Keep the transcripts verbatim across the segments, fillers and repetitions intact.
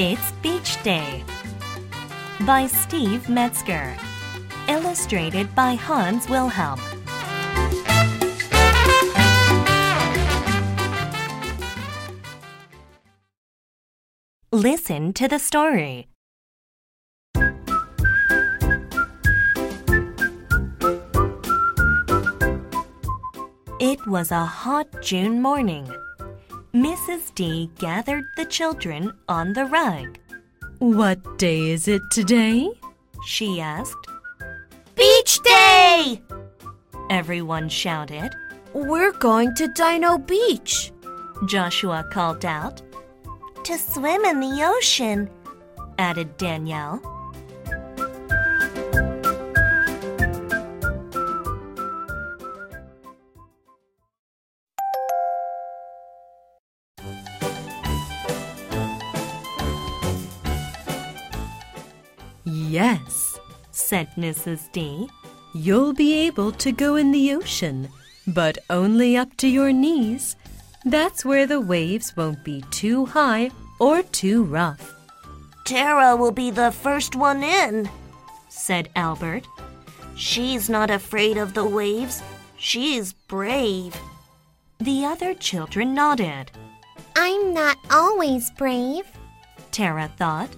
It's Beach Day by Steve Metzger. Illustrated by Hans Wilhelm. Listen to the story. It was a hot June morning. Missus D gathered the children on the rug. "What day is it today?" she asked. Beach Day! Everyone shouted. We're going to Dino Beach, Joshua called out. to swim in the ocean, added Danielle. "Yes," said Missus D. "You'll be able to go in the ocean, but only up to your knees. That's where the waves won't be too high or too rough." Tara will be the first one in, said Albert. She's not afraid of the waves. She's brave. The other children nodded. I'm not always brave, Tara thought.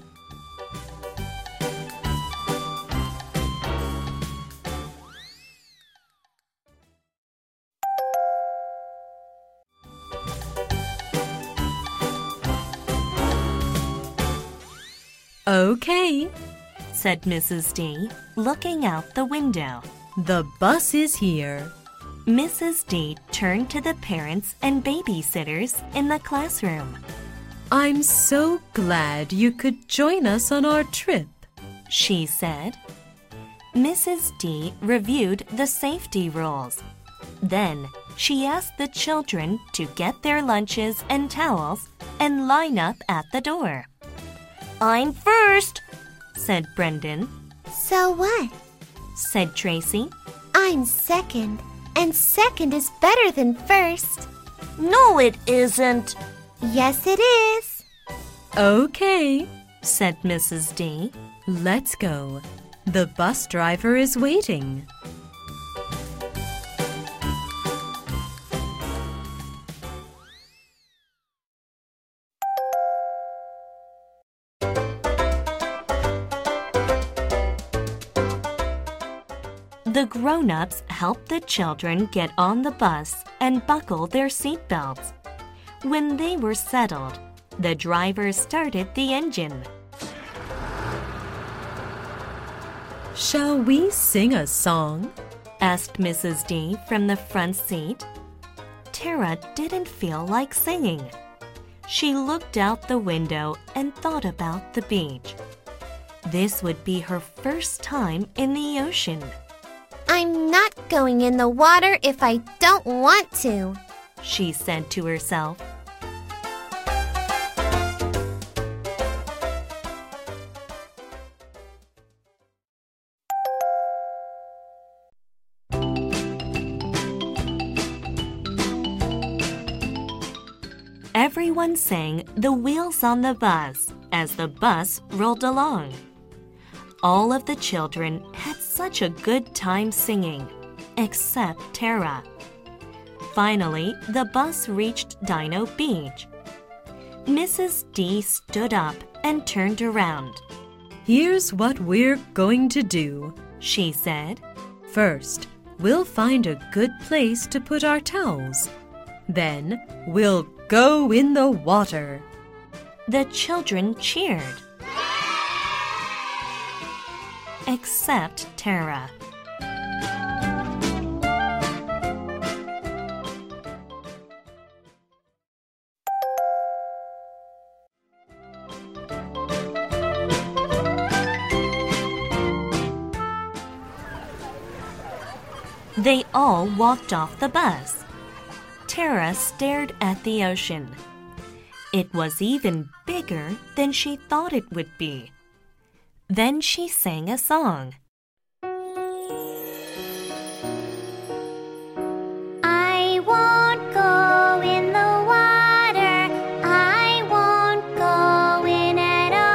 "Okay," said Missus D, looking out the window. "The bus is here." Missus D turned to the parents and babysitters in the classroom. "I'm so glad you could join us on our trip," she said. Missus D reviewed the safety rules. Then she asked the children to get their lunches and towels and line up at the door. I'm first, said Brendan. So what? said Tracy. I'm second, and second is better than first. No, it isn't. Yes, it is. "Okay," said Missus D. "Let's go. The bus driver is waiting." The grown-ups helped the children get on the bus and buckle their seatbelts. When they were settled, the driver started the engine. "Shall we sing a song?" asked Missus D from the front seat. Tara didn't feel like singing. She looked out the window and thought about the beach. This would be her first time in the ocean. I'm not going in the water if I don't want to, she said to herself. Everyone sang "The Wheels on the Bus" as the bus rolled along. All of the children had such a good time singing, except Tara. Finally, the bus reached Dino Beach. Missus D stood up and turned around. "Here's what we're going to do," she said. "First, we'll find a good place to put our towels. Then, we'll go in the water." The children cheered. Except Tara. They all walked off the bus. Tara stared at the ocean. It was even bigger than she thought it would be. Then she sang a song. I won't go in the water. I won't go in at all.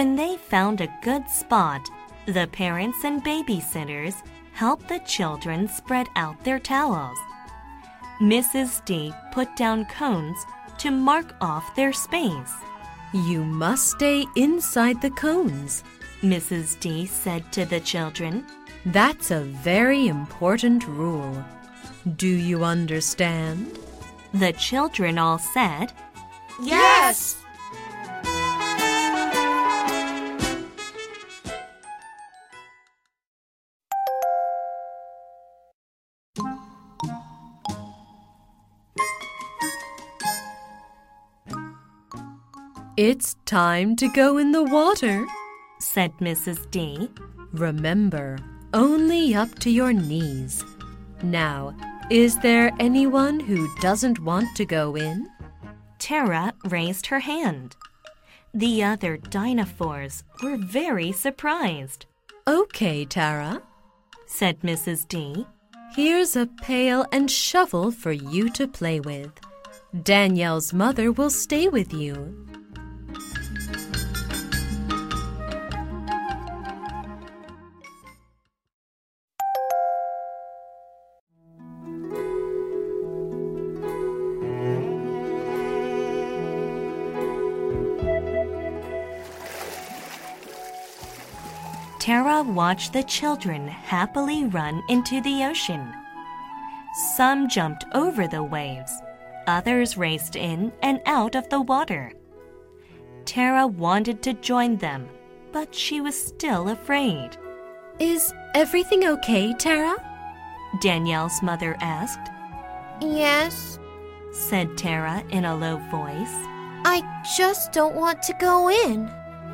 When they found a good spot, the parents and babysitters helped the children spread out their towels. Missus D put down cones to mark off their space. You must stay inside the cones, Missus D said to the children. That's a very important rule. Do you understand? The children all said, Yes! It's time to go in the water, said Missus D. Remember, only up to your knees. Now, is there anyone who doesn't want to go in? Tara raised her hand. The other dinosaurs were very surprised. Okay, Tara, said Missus D. Here's a pail and shovel for you to play with. Danielle's mother will stay with you. Tara watched the children happily run into the ocean. Some jumped over the waves. Others raced in and out of the water. Tara wanted to join them, but she was still afraid. Is everything okay, Tara? Danielle's mother asked. Yes, said Tara in a low voice. I just don't want to go in.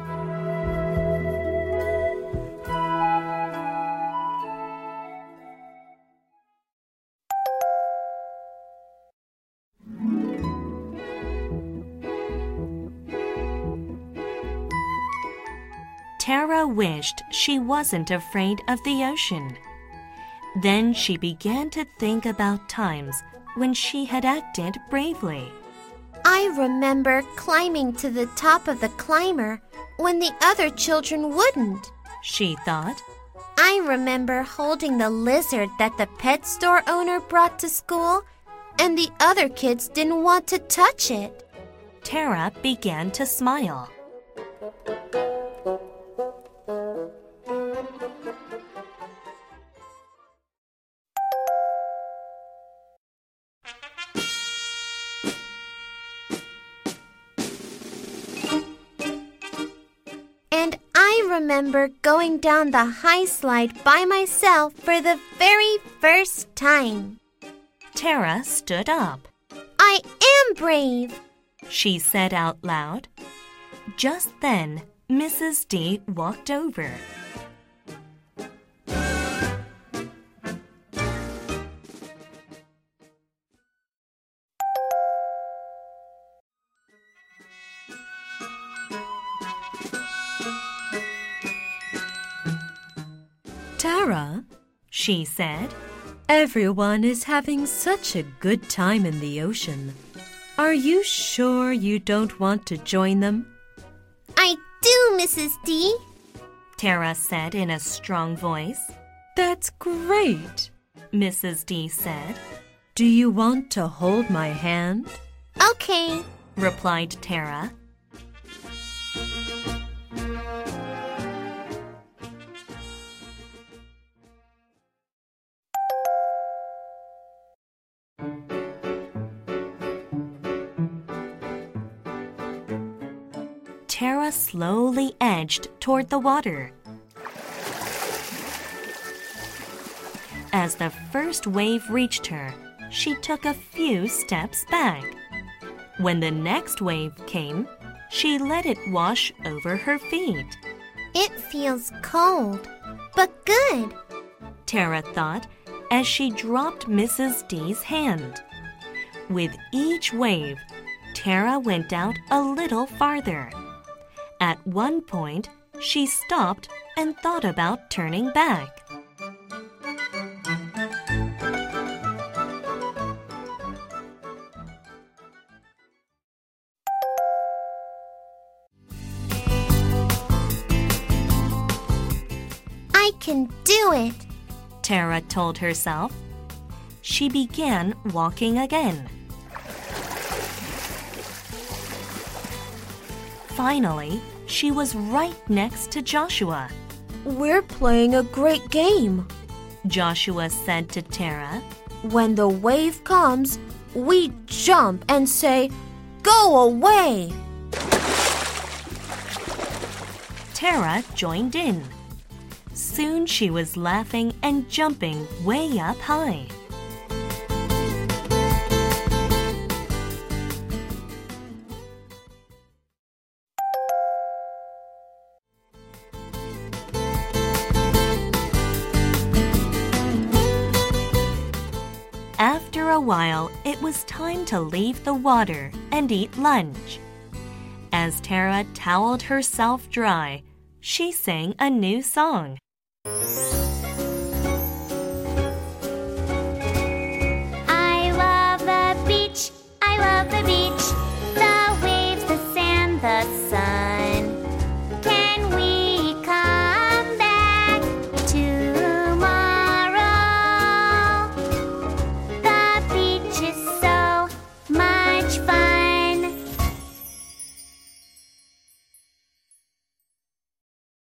Tara wished she wasn't afraid of the ocean. Then she began to think about times when she had acted bravely. I remember climbing to the top of the climber when the other children wouldn't, she thought. I remember holding the lizard that the pet store owner brought to school, and the other kids didn't want to touch it. Tara began to smile. And I remember going down the high slide by myself for the very first time. Tara stood up. I am brave, she said out loud. Just then, Missus D walked over. Tara, she said, everyone is having such a good time in the ocean. Are you sure you don't want to join them? I do, Missus D, Tara said in a strong voice. That's great, Missus D said. Do you want to hold my hand? Okay, replied Tara. Tara slowly edged toward the water. As the first wave reached her, she took a few steps back. When the next wave came, she let it wash over her feet. It feels cold, but good, Tara thought as she dropped Missus D's hand. With each wave, Tara went out a little farther. At one point, she stopped and thought about turning back. I can do it, Tara told herself. She began walking again. Finally, she was right next to Joshua. We're playing a great game, Joshua said to Tara. When the wave comes, we jump and say, "Go away!" Tara joined in. Soon she was laughing and jumping way up high. After a while, it was time to leave the water and eat lunch. As Tara toweled herself dry, she sang a new song.